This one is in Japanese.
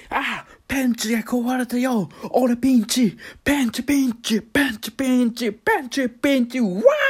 ペンチが壊れたよ。俺ピンチ。ペンチピンチ。ペンチピンチ。ペンチピンチ。わー